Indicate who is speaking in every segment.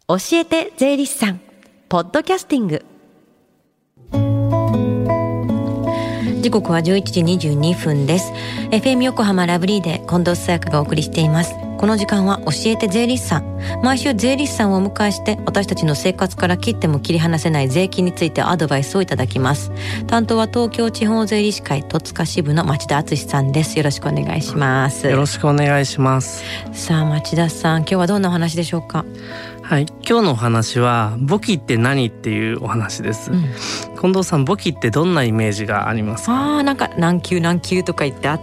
Speaker 1: 教えて税理士さんポッドキャスティング。時刻は11時22分です。 FM 横浜ラブリーで近藤紗友香がお送りしています。この時間は教えて税理士さん。毎週税理士さんをお迎えして私たちの生活から切っても切り離せない税金についてアドバイスをいただきます。担当は東京地方税理士会戸塚支部の町田敦さんです。よろしくお願いします。
Speaker 2: よろしくお願いします。
Speaker 1: さあ町田さん、今日はどんなお話でしょうか？
Speaker 2: はい、今日のお話は簿記って何っていうお話です、近藤さん、簿記ってどんなイメージがありますか？
Speaker 1: なんか何級何級とか言ってあって、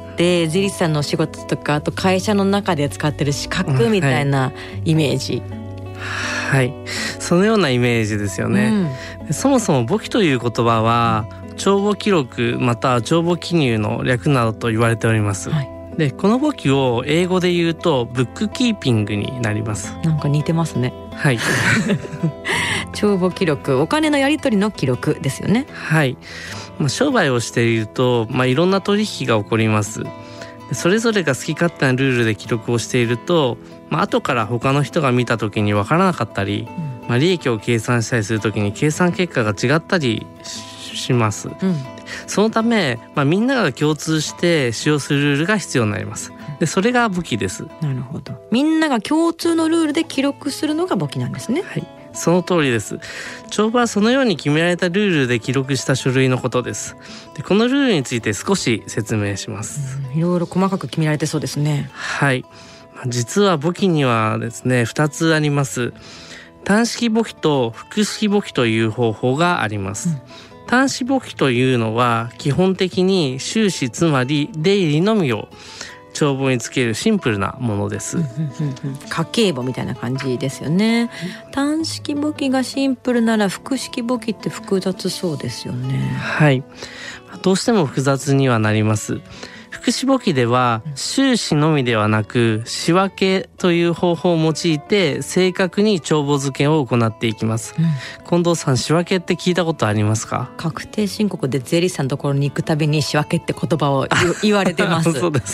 Speaker 1: 税理士さんのお仕事とか、あと会社の中で使ってる資格みたいなイメージ、
Speaker 2: はい、そのようなイメージですよね、そもそも簿記という言葉は帳簿記録または帳簿記入の略などと言われております、でこの簿記を英語で言うとブックキーピングになります。
Speaker 1: なんか似てますね。はい帳簿記録、お金のやり取りの記録ですよね。はい、
Speaker 2: 商売をしていると、いろんな取引が起こります。それぞれが好き勝手なルールで記録をしていると、後から他の人が見た時に分からなかったり、利益を計算したりする時に計算結果が違ったりします、そのため、みんなが共通して使用するルールが必要になります。でそれが簿記です。
Speaker 1: なるほど。みんなが共通のルールで記録するのが簿記なんですね。
Speaker 2: はい、その通りです。帳簿はそのように決められたルールで記録した書類のことです。でこのルールについて少し説明します。
Speaker 1: いろいろ細かく決められてそうですね。
Speaker 2: はい、実は簿記にはですね2つあります。単式簿記と複式簿記という方法があります、単式簿記というのは基本的に収支つまり出入りのみを帳簿につけるシンプルなものです、
Speaker 1: 家計簿みたいな感じですよね。単式簿記がシンプルなら複式簿記って複雑そうですよね。
Speaker 2: はい、どうしても複雑にはなります。複式簿記では収支のみではなく仕分けという方法を用いて正確に帳簿付けを行っていきます、近藤さん、仕分けって聞いたことありますか？
Speaker 1: 確定申告で税理士さんのところに行くたびに仕分けって言葉を言われてます
Speaker 2: そうです、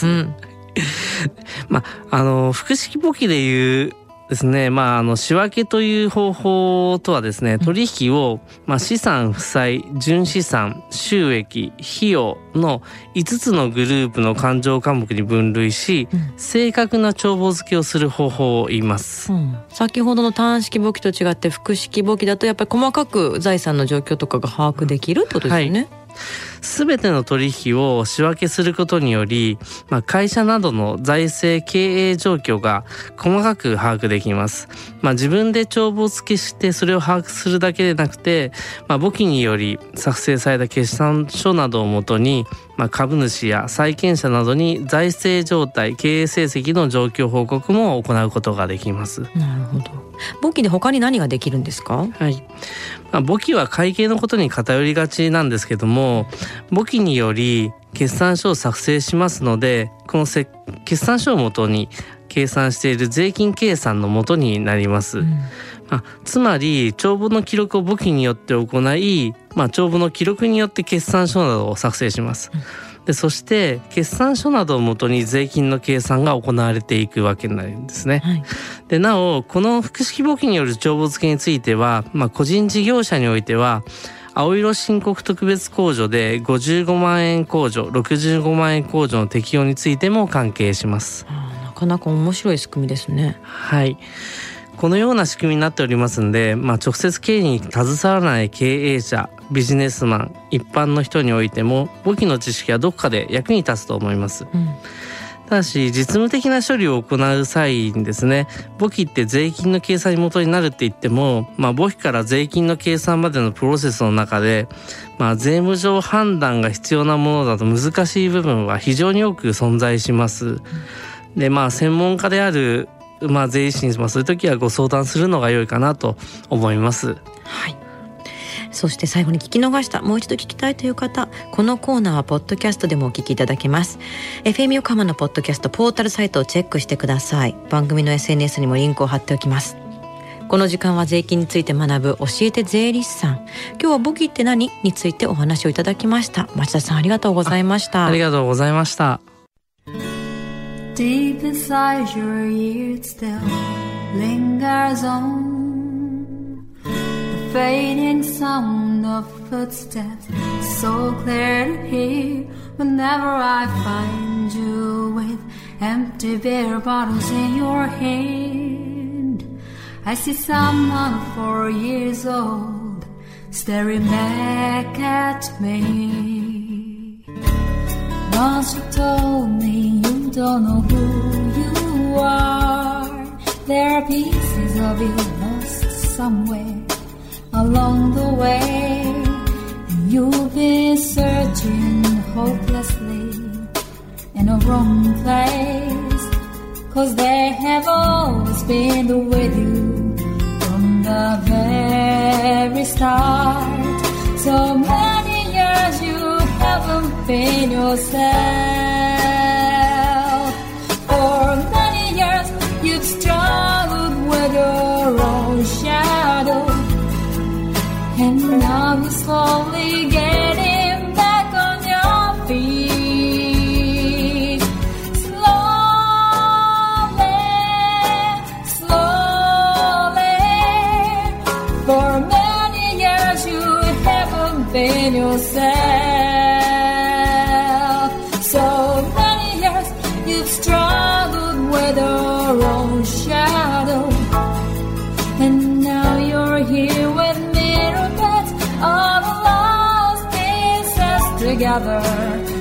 Speaker 2: 複式簿記でいうですね、仕分けという方法とはですね、取引を、資産負債、純資産、収益、費用の5つのグループの勘定科目に分類し、正確な帳簿付けをする方法を言います、
Speaker 1: 先ほどの単式簿記と違って複式簿記だとやっぱり細かく財産の状況とかが把握できるってことですよね。
Speaker 2: すべての取引を仕分けすることにより、会社などの財政経営状況が細かく把握できます。自分で帳簿付けしてそれを把握するだけでなくて、簿記により作成された決算書などをもとに、株主や債権者などに財政状態、経営成績の状況報告も行うことができます。
Speaker 1: なるほど。簿記で他に何ができるんですか？
Speaker 2: はい、簿記は会計のことに偏りがちなんですけども、簿記により決算書を作成しますので、この決算書をもとに計算している税金計算のもとになります、つまり帳簿の記録を簿記によって行い、帳簿の記録によって決算書などを作成します、でそして決算書などをもとに税金の計算が行われていくわけになるんですね、でなおこの複式簿記による帳簿付けについては、個人事業者においては青色申告特別控除で55万円控除、65万円控除の適用についても関係します。
Speaker 1: なかなか面白い仕組みですね。
Speaker 2: はい、このような仕組みになっておりますので、直接経営に携わらない経営者、ビジネスマン、一般の人においても簿記の知識はどこかで役に立つと思います、ただし実務的な処理を行う際にですね、簿記って税金の計算に元になるって言っても、簿記から税金の計算までのプロセスの中で、税務上判断が必要なものだと難しい部分は非常に多く存在します。で専門家である税理士にそういう時はご相談するのが良いかなと思います。
Speaker 1: はい。そして最後に聞き逃した、もう一度聞きたいという方、このコーナーはポッドキャストでもお聞きいただけます。 FM 横浜のポッドキャストポータルサイトをチェックしてください。番組の SNS にもリンクを貼っておきます。この時間は税金について学ぶ教えて税理士さん。今日は簿記って何についてお話をいただきました。町田さん、ありがとうございました。
Speaker 2: ありがとうございました。
Speaker 3: Deep inside your ears still lingers on fading sound of footsteps, so clear to hear whenever I find you with empty beer bottles in your hand. I see someone 4 years old staring back at me. Once you told me you don't know who you are. There are pieces of you lost somewhere along the way, and you've been searching hopelessly in a wrong place, 'cause they have always been with you from the very start. So many years you haven't been yourself. For many years you've struggled with your own shadow, and now you're slowly getting back on your feet. Slowly, slowly. For many years you haven't been yourself. So many years you've struggled with your own shadow, and now you're here with me, all the lost pieces together.